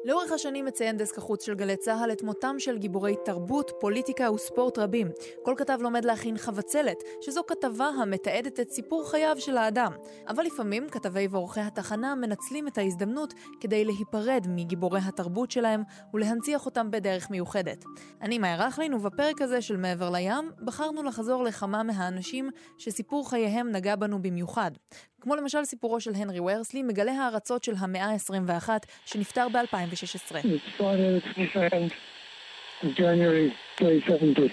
לאורך השנים מציין דסק החוץ של גלי צהל את מותם של גיבורי תרבות, פוליטיקה וספורט רבים. כל כתב לומד להכין חבצלת, שזו כתבה המתעדת את סיפור חייו של האדם. אבל לפעמים כתבי ועורכי התחנה מנצלים את ההזדמנות כדי להיפרד מגיבורי התרבות שלהם ולהנציח אותם בדרך מיוחדת. אני מאיה רכלין, ובפרק הזה של מעבר לים בחרנו לחזור לכמה מהאנשים שסיפור חייהם נגע בנו במיוחד. כמו למשל סיפורו של הנרי ורסלי, מגלה הארצות של המאה ה-21 שנפטר ב-2016. It's Friday the 22nd of January 2070.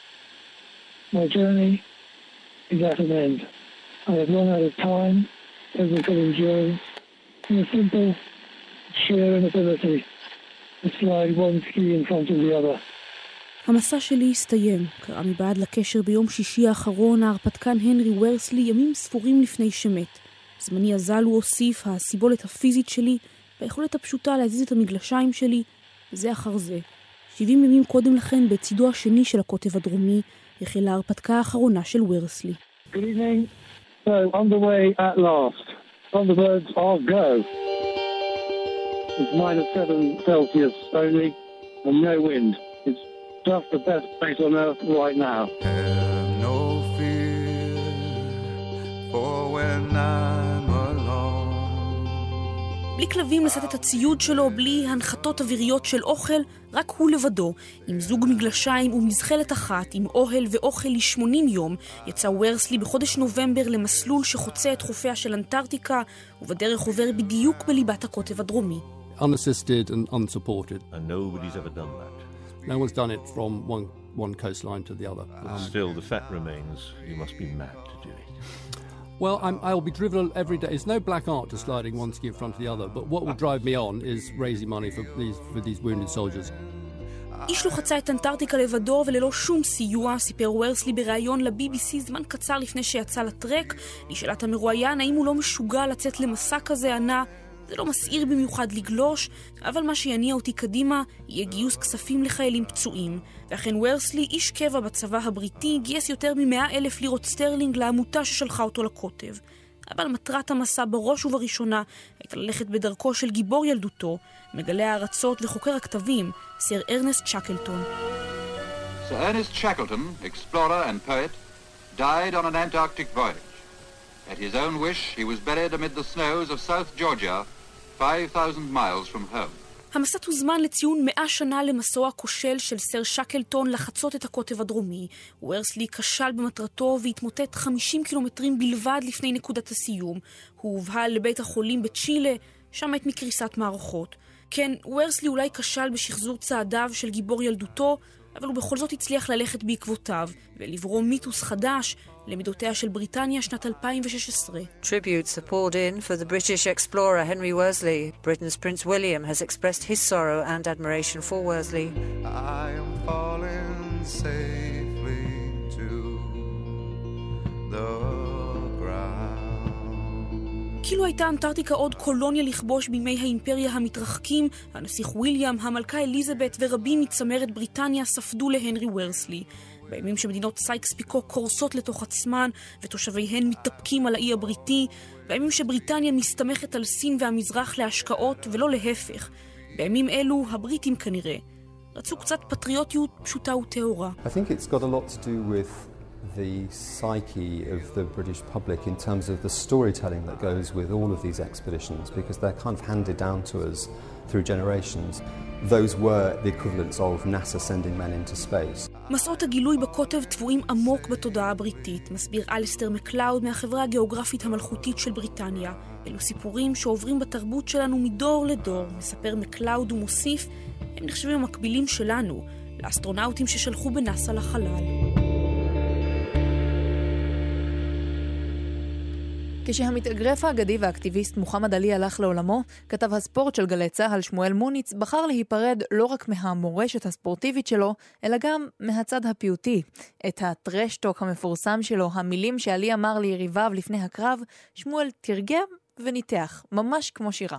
My journey is at an end. I have run out of time, physical endurance, and a simple sheer inability to slide one ski in front of the other. המסע שלי הסתיים, קרא מבעד לקשר ביום שישי האחרון ההרפתקן הנרי ורסלי ימים ספורים לפני שמת. זמני הזל הוא הוסיף, הסיבולת הפיזית שלי והיכולת הפשוטה להזיז את המגלשיים שלי, זה אחר זה. 70 ימים קודם לכן, בצידו השני של הקוטב הדרומי, החלה ההרפתקה האחרונה של ורסלי. Good evening. So, on the way at last. On the birds are go. It's -7 Celsius only and no wind. It's just the best place on earth right now. Have no fear for when I'm alone. בלי כלבים לשאת את הציוד שלו, בלי הנחתות אוויריות של אוכל, רק הוא לבדו, עם זוג מגלשיים ומזחלת אחת, עם אוהל ואוכל ל-80 יום, יצא ורסלי בחודש נובמבר למסלול שחוצה את חופיה של אנטארקטיקה, ובדרך עובר בדיוק בליבת הקוטב הדרומי. Unassisted and unsupported. And nobody's ever done that. No one's done it from one coastline to the other. Still, the fact remains, you must be mad to do it. Well, I'll be driven every day. It's no black art to sliding one ski in front of the other, but what will drive me on is raising money for these wounded soldiers. איש לא חצה את אנטארקטיקה לבדו וללא שום סיוע, סיפר ורסלי בראיון ל-BBC זמן קצר לפני שיצא לטרק. נשאלת המרואיין האם הוא לא משוגע לצאת למסע כזה, ענה, זה לא מסעיר במיוחד לגלוש, אבל מה שיניע אותי קדימה יהיה גיוס כספים לחיילים פצועים. ואכן ורסלי, איש קבע בצבא הבריטי, גייס יותר מ100,000 לירות סטרלינג לעמותה ששלחה אותו לקוטב. אבל מטרת המסע בראש ובראשונה הייתה ללכת בדרכו של גיבור ילדותו, מגלה הארצות וחוקר הכתבים, סר ארנסט שקלטון. Sir Ernest Shackleton, explorer and poet, died on an Antarctic voyage. At his own wish, he was buried amid the snows of South Georgia, 5,000 miles from home. המסע הוזמן לציון 100 שנה למסעו הכושל של סר שקלטון לחצות את הקוטב הדרומי. ורסלי כשל במטרתו והתמוטט 50 קילומטרים בלבד לפני נקודת הסיום. הוא הובהל לבית החולים בצ'ילה, שם מת מקריסת מערכות. כן, ורסלי אולי כשל בשחזור צעדיו של גיבור ילדותו, אבל הוא בכל זאת הצליח ללכת בעקבותיו ולברוא מיתוס חדש למידותיה של בריטניה שנת 2016. Tributes are poured in for the British explorer Henry Worsley. Britain's Prince William has expressed his sorrow and admiration for Worsley. I am falling safely to the ground. כאילו הייתה אנטארקטיקה עוד קולוניה לכבוש בימי האימפריה המתרחקים, הנסיך וויליאם, המלכה אליזבת ורבים מצמרת בריטניה ספדו להנרי ורסלי. בימים שמדינות סייקס פיקו קורסות לתוך עצמן ותושביהן מתאפקים על האי הבריטי, בימים שבריטניה מסתמכת על סין והמזרח להשקעות ולא להפך, בימים אלו הבריטים כנראה רצו קצת פטריוטיות פשוטה וטהורה. I think it's got a lot to do with the psyche of the British public in terms of the storytelling that goes with all of these expeditions, because they're kind of handed down to us through generations. Those were the equivalents of NASA sending men into space. מסעות הגילוי בקוטב טבועים עמוק בתודעה הבריטית, מסביר אלסטר מקלאוד מהחברה הגיאוגרפית המלכותית של בריטניה. אלו סיפורים שעוברים בתרבות שלנו מדור לדור, מספר מקלאוד ומוסיף, הם נחשבים המקבילים שלנו, לאסטרונאוטים ששלחו בנאסא לחלל. כשהמתאגרף האגדי והאקטיביסט מוחמד עלי הלך לעולמו, כתב הספורט של גלי צהל שמואל מוניץ בחר להיפרד לא רק מהמורשת הספורטיבית שלו, אלא גם מהצד הפיוטי. את הטרשטוק המפורסם שלו, המילים שעלי אמר ליריביו לפני הקרב, שמואל תרגם וניתח, ממש כמו שירה.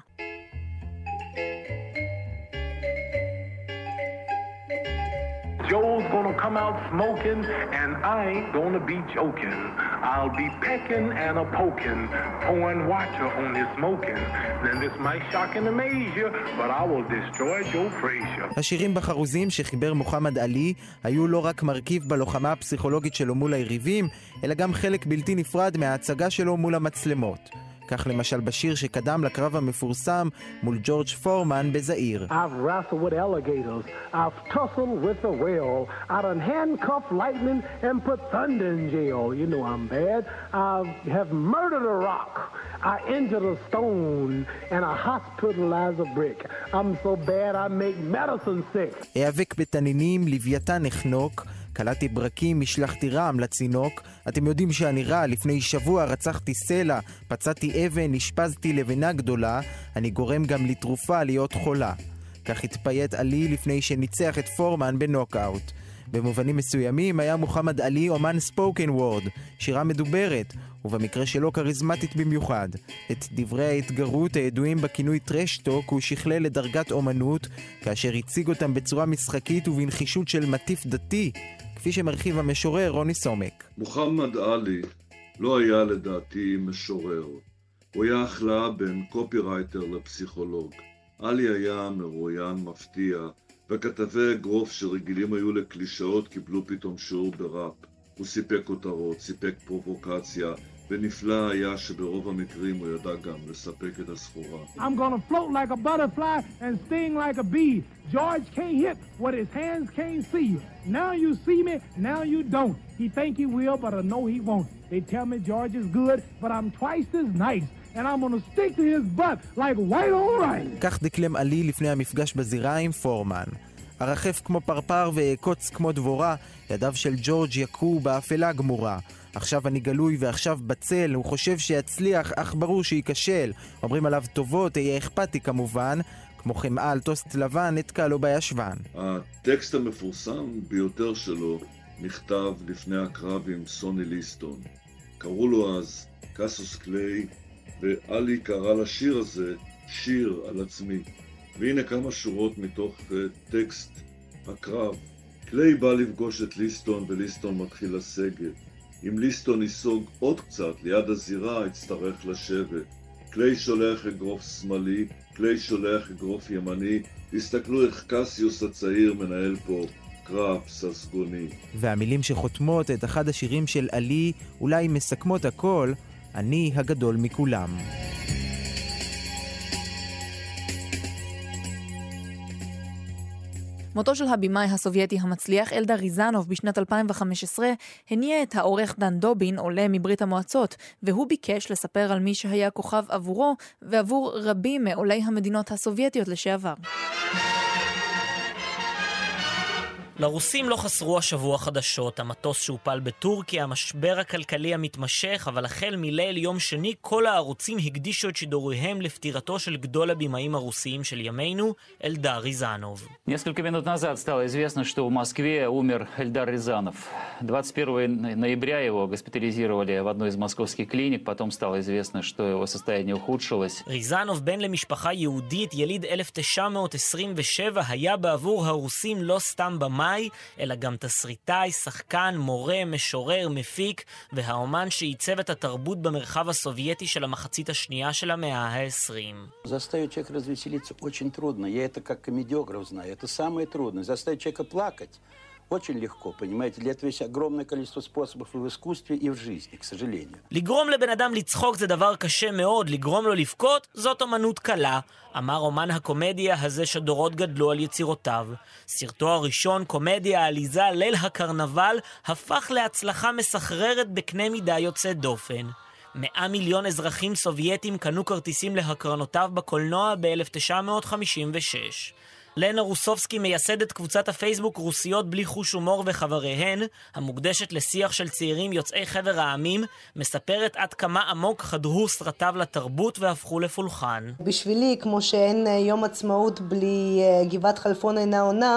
Joe's gonna come out smoking, and I ain't gonna be joking. I'll be pecking and a poking, pouring water on his smoking. Then this might shock and amaze you, but I will destroy Joe Frazier. השירים בחרוזים שחיבר מוחמד עלי היו לא רק מרכיב בלוחמה הפסיכולוגית שלו מול היריבים, אלא גם חלק בלתי נפרד מההצגה שלו מול המצלמות. כך למשל בשיר שקדם לקרב המפורסם מול ג'ורג' פורמן בזעיר. I've wrestled with alligators, I've tussled with a whale, I done handcuffed lightning and put thunder in jail. You know I'm bad. I have murdered a rock, I injured a stone, and I hospitalized a brick. I'm so bad I make medicine sick. היאבק בתנינים, לוויתן החנוק, קלעתי ברקים, משלחתי רעם לצינוק. אתם יודעים שאני רע, לפני שבוע רצחתי סלע, פצעתי אבן, נשפזתי לבנה גדולה, אני גורם גם לתרופה להיות חולה. כך התפייט עלי לפני שניצח את פורמן בנוקאוט. במובנים מסוימים היה מוחמד עלי אומן ספוקן וורד, שירה מדוברת, ובמקרה שלו קריזמטית במיוחד. את דברי ההתגרות הידועים בכינוי טרשטוק הוא שכלל לדרגת אומנות, כאשר הציג אותם בצורה משחקית ובנחישות של מטיף דתי, כפי שמרחיב המשורר רוני סומק. מוחמד עלי לא היה לדעתי משורר. הוא היה החלאה בין קופירייטר לפסיכולוג. עלי היה מרואיין מפתיע, וכתבי אגרוף שרגילים היו לקלישאות קיבלו פתאום שיעור בראפ. הוא סיפק כותרות, סיפק פרובוקציה, ונפלא היה שברוב המקרים הוא ידע גם לספק את הסחורה. I'm gonna float like a butterfly and sting like a bee. George can't hit what his hands can't see. Now you see me, now you don't. He think he will, but I know he won't. They tell me George is good, but I'm twice as nice. And I'm gonna stick to his butt like white on rice. כך דקלם עלי לפני המפגש בזירה עם פורמן. הרחף כמו פרפר ועקוץ כמו דבורה, ידיו של ג'ורג' יקו באפלה גמורה. עכשיו אני גלוי ועכשיו בצל, הוא חושב שיצליח, אך ברור שייכשל. אומרים עליו טובות, יהיה אכפתי כמובן, כמו חמאה על טוסט לבן, נתקע לו בישבן. הטקסט המפורסם ביותר שלו נכתב לפני הקרב עם סוני ליסטון. קראו לו אז קאסוס קליי, ואלי קרא לשיר הזה שיר על עצמי. והנה כמה שורות מתוך טקסט הקרב. קליי בא לפגוש את ליסטון וליסטון מתחיל לסגת. אם ליסטון ייסוג עוד קצת ליד הזירה יצטרך לשבת. קליי שולח אגרוף שמאלי, קליי שולח אגרוף ימני. תסתכלו איך קסיוס הצעיר מנהל פה קרב ססגוני. והמילים שחותמות את אחד השירים של עלי אולי מסכמות הכל, אני הגדול מכולם. מותו של הבימאי הסובייטי המצליח אלדר ריזנוב בשנת 2015 הניע את העורך דן דובין, עולה מברית המועצות, והוא ביקש לספר על מי שהיה כוכב עבורו ועבור רבים מעולי המדינות הסובייטיות לשעבר. לרוסים לא חסרו השבוע חדשות, המטוס שהופל בטורקיה, המשבר הכלכלי המתמשך, אבל החל מליל יום שני כל הערוצים הקדישו את שידוריהם לפטירתו של גדול הבימאים הרוסיים של ימינו, אלדר ריזנוב. Несколько минут назад стало известно, что в Москве умер Эльдар Рязанов. 21 ноября его госпитализировали в одной из московских клиник, потом стало известно, что его состояние ухудшилось. ריזנוב, בן למשפחה יהודית, יליד 1927, היה בעבור הרוסים לא סתם במאי, אלא גם תסריטאי, שחקן, מורה, משורר, מפיק, והאומן שעיצב את התרבות במרחב הסובייטי של המחצית השנייה של המאה ה-20. Заставить человека развеселиться очень трудно. Я это как комедиограф знаю. Это самое трудное. Заставить человека плакать очень легко, понимаете? Для этого есть огромное количество способов и в искусстве, и в жизни, к сожалению. לגרום לבן אדם לצחוק זה דבר קשה מאוד, לגרום לו לבכות זאת אומנות קלה, אמר אומן הקומדיה הזה שדורות גדלו על יצירותיו. סרטו הראשון, קומדיה עליזה ליל הקרנבל, הפך להצלחה מסחררת בקנה מידה יוצא דופן. 100 מיליון אזרחים סובייטים קנו כרטיסים להקרנותיו בקולנוע ב-1956. לנה רוסובסקי מייסדת קבוצת הפייסבוק רוסיות בלי חוש הומור וחבריהן, המוקדשת לשיח של צעירים יוצאי חבר העמים, מספרת עד כמה עמוק חדרו סרטיו לתרבות והפכו לפולחן. בשבילי, כמו שאין יום עצמאות בלי גבעת חלפון אינה עונה,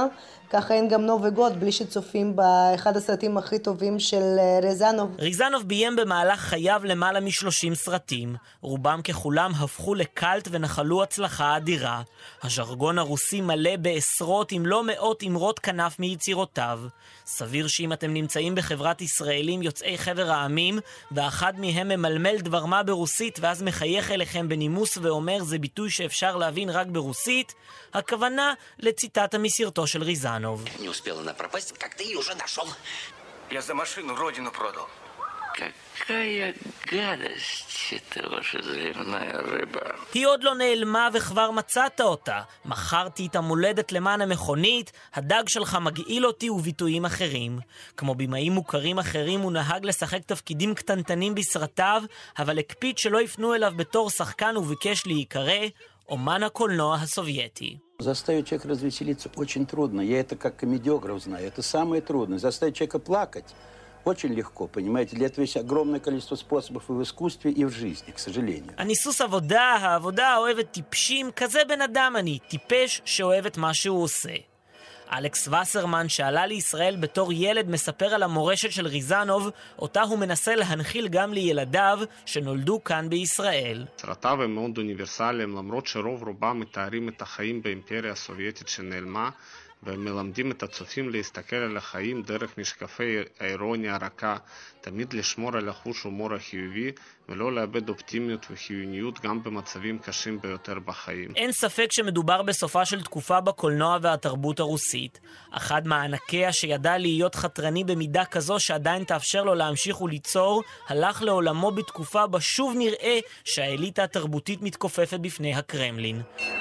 ככה אין גם נובגוד בלי שצופים באחד הסרטים הכי טובים של ריזנוב. ריזנוב ביים במהלך חייו למעלה מ-30 סרטים. רובם ככולם הפכו לקלט ונחלו הצלחה אדירה. הז'רגון הרוסי מלא בעשרות אם לא מאות אמרות כנף מיצירותיו. סביר שאם אתם נמצאים בחברת ישראלים יוצאי חבר העמים, ואחד מהם ממלמל דבר מה ברוסית ואז מחייך אליכם בנימוס ואומר זה ביטוי שאפשר להבין רק ברוסית, הכוונה לציטטה מסרטו של ריזנוב. Не успела она пропасть, как ты ее уже нашел. Я за машину родину продал. Какая гадость, это ваша заливная рыба. היא עוד לא נעלמה וכבר מצאת אותה. מכרתי את המולדת למען המכונית, הדג שלך מגעיל אותי וביטויים אחרים. כמו במאים מוכרים אחרים הוא נהג לשחק תפקידים קטנטנים בסרטיו, אבל הקפיד שלא יפנו אליו בתור שחקן וביקש להיקרא אומן הקולנוע הסובייטי. Заставить человека развеселиться очень трудно. Я это как комедиограф знаю. Это самое трудное. Заставить человека плакать очень легко, понимаете? Для этого есть огромное количество способов и в искусстве, и в жизни, к сожалению. אני סוס עבודה, העבודה האוהבת טיפשים, כזה בן אדם אני, טיפש שאוהב את מה שהוא עושה. אלכס וסרמן שעלה לישראל בתור ילד מספר על המורשת של ריזנוב, אותה הוא מנסה להנחיל גם לילדיו שנולדו כאן בישראל. סרטיו הם מאוד אוניברסליים, למרות שרוב רובם מתארים את החיים באימפריה הסובייטית שנעלמה, והם מלמדים את הצופים להסתכל על החיים דרך משקפי האירוניה הרכה, תמיד לשמור על החוש הומור החיובי ולא לאבד אופטימיות וחיוניות גם במצבים קשים ביותר בחיים. אין ספק שמדובר בסופה של תקופה בקולנוע והתרבות הרוסית. אחד מענקיה שידע להיות חתרני במידה כזו שעדיין תאפשר לו להמשיך וליצור, הלך לעולמו בתקופה בה שוב נראה שהאליטה התרבותית מתכופפת בפני הקרמלין.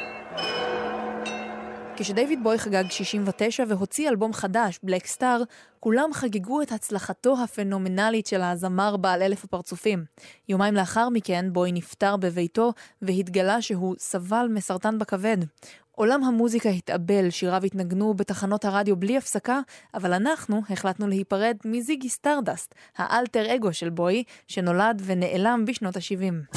כשדייוויד בוי חגג 69 והוציא אלבום חדש, בלק סטאר, כולם חגגו את הצלחתו הפנומנלית של הזמר בעל 1000 הפרצופים. יומיים לאחר מכן בוי נפטר בביתו והתגלה שהוא סבל מסרטן בכבד. עולם המוזיקה התאבל, שיריו התנגנו בתחנות הרדיו בלי הפסקה, אבל אנחנו החלטנו להיפרד מזיגי סטארדסט, האלטר אגו של בוי, שנולד ונעלם בשנות ה-70.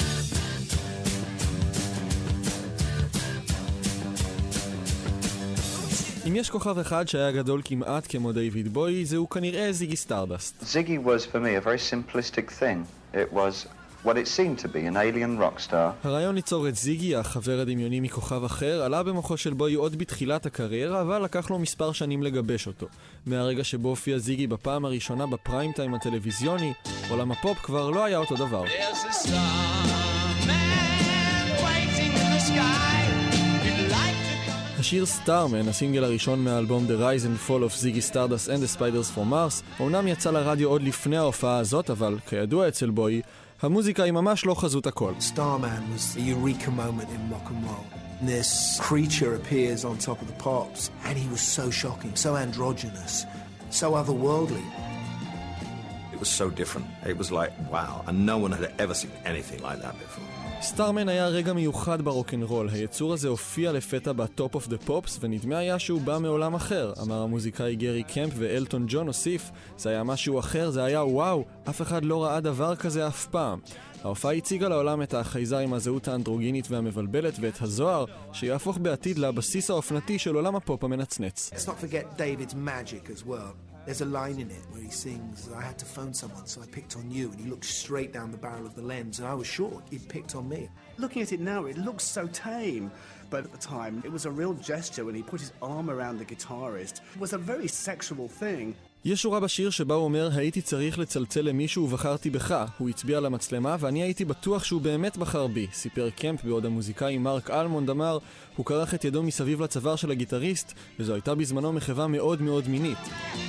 אם יש כוכב אחד שהיה גדול כמעט כמו דיוויד בוי, זהו כנראה זיגי סטארדסט. Ziggy was for me a very simplistic thing. It was what it seemed to be, an alien rock star. הרעיון ליצור את זיגי, החבר הדמיוני מכוכב אחר, עלה במוחו של בוי עוד בתחילת הקריירה, אבל לקח לו מספר שנים לגבש אותו. מהרגע שבו הופיע זיגי בפעם הראשונה בפריים טיים הטלוויזיוני, עולם הפופ כבר לא היה אותו דבר. השיר סטארמן, הסינגל הראשון מהאלבום The Rise and Fall of Ziggy Stardust and the Spiders from Mars, אומנם יצא לרדיו עוד לפני ההופעה הזאת, אבל כידוע אצל בוי, המוזיקה היא ממש לא חזות הכל. Starman was a eureka moment in rock and roll. This creature appears on top of the pops, and he was so shocking, so androgynous, so otherworldly. It was so different. It was like, wow, and no one had ever seen anything like that before. סטארמן היה רגע מיוחד ברוק'נ'רול. היצור הזה הופיע לפתע בטופ אוף דה פופס, ונדמה היה שהוא בא מעולם אחר. אמר המוזיקאי גרי קמפ, ואלטון ג'ון הוסיף, זה היה משהו אחר, זה היה וואו, אף אחד לא ראה דבר כזה אף פעם. ההופעה הציגה לעולם את החייזר עם הזהות האנדרוגינית והמבלבלת ואת הזוהר, שיהפוך בעתיד לבסיס האופנתי של עולם הפופ המנצנץ. Let's not forget David's magic as well. There's a line in it where he sings, I had to phone someone, so I picked on you, and he looked straight down the barrel of the lens, and I was sure he'd picked on me. Looking at it now, it looks so tame, but at the time, it was a real gesture when he put his arm around the guitarist. It was a very sexual thing. יש שורה בשיר שבה הוא אומר, הייתי צריך לצלצל למישהו ובחרתי בך. הוא הצביע למצלמה ואני הייתי בטוח שהוא באמת בחר בי. סיפר קמפ בעוד המוזיקאי מרק אלמונד אמר, הוא קרח את ידו מסביב לצוואר של הגיטריסט, וזו הייתה בזמנו מחווה מאוד מאוד מינית.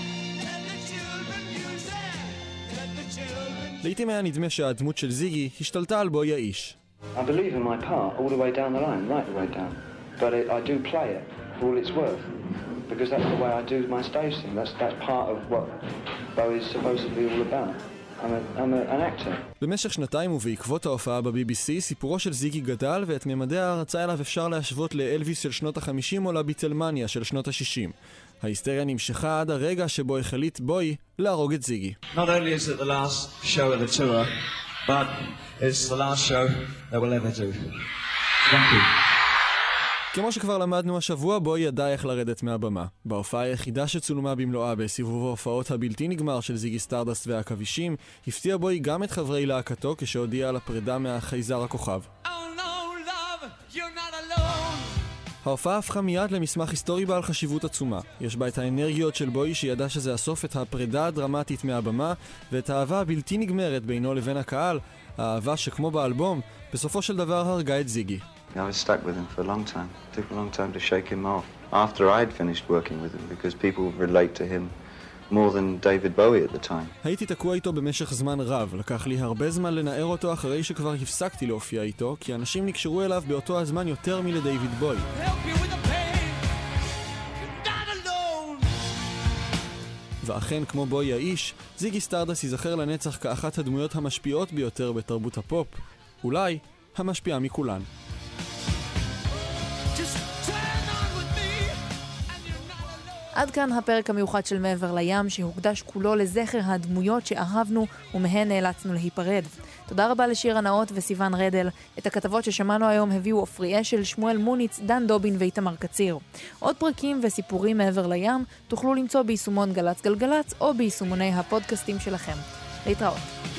לעתים היה נדמה שהדמות של זיגי השתלטה על בוי האיש. I believe in my part all the way down the line, right the way down. But I do play it for all it's worth. Because that's the way I do my stage thing. That's part of what Bowie's supposed to be all about. I'm an actor. במשך שנתיים ובעקבות ההופעה ב-BBC, סיפורו של זיגי גדל ואת ממדי ההרצאה אליו אפשר להשוות לאלוויס של שנות ה-50 או לביטלמניה של שנות ה-60. ההיסטריה נמשכה עד הרגע שבו החליט בוי להרוג את זיגי. Not only is it the last show of the tour, but it's the last show that we'll ever do. Thank you. כמו שכבר למדנו השבוע, בואי ידע איך לרדת מהבמה. בהופעה היחידה שצולמה במלואה בסיבוב ההופעות הבלתי נגמר של זיגי סטרדסט והעכבישים, הפתיע בואי גם את חברי להקתו כשהודיע על הפרידה מהחייזר הכוכב. ההופעה הפכה מיד למסמך היסטורי בעל חשיבות עצומה. יש בה את האנרגיות של בואי שידע שזה הסוף, את הפרידה הדרמטית מהבמה, ואת האהבה הבלתי נגמרת בינו לבין הקהל, האהבה שכמו באלבום, בסופו של דבר הרגה את זיגי. I was stuck with him for a long time. It took a long time to shake him off. After I'd finished working with him, because people relate to him more than David Bowie at the time. הייתי תקוע איתו במשך זמן רב. לקח לי הרבה זמן לנער אותו אחרי שכבר הפסקתי להופיע איתו, כי אנשים נקשרו אליו באותו הזמן יותר מלדיוויד בוי. ואכן, כמו בוי האיש, זיגי סטרדסט ייזכר לנצח כאחת הדמויות המשפיעות ביותר בתרבות הפופ. אולי המשפיעה מכולן. עד כאן הפרק המיוחד של מעבר לים, שהוקדש כולו לזכר הדמויות שאהבנו ומהן נאלצנו להיפרד. תודה רבה לשיר הנאות וסיוון רדל. את הכתבות ששמענו היום הביאו עופרי אשל, שמואל מוניץ, דן דובין ואיתמר קציר. עוד פרקים וסיפורים מעבר לים תוכלו למצוא ביישומון גלץ גלגלץ או ביישומוני הפודקאסטים שלכם. להתראות.